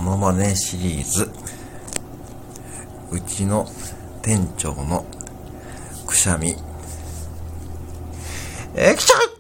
ノマネシリーズ。うちの店長のくしゃみ。きちゃう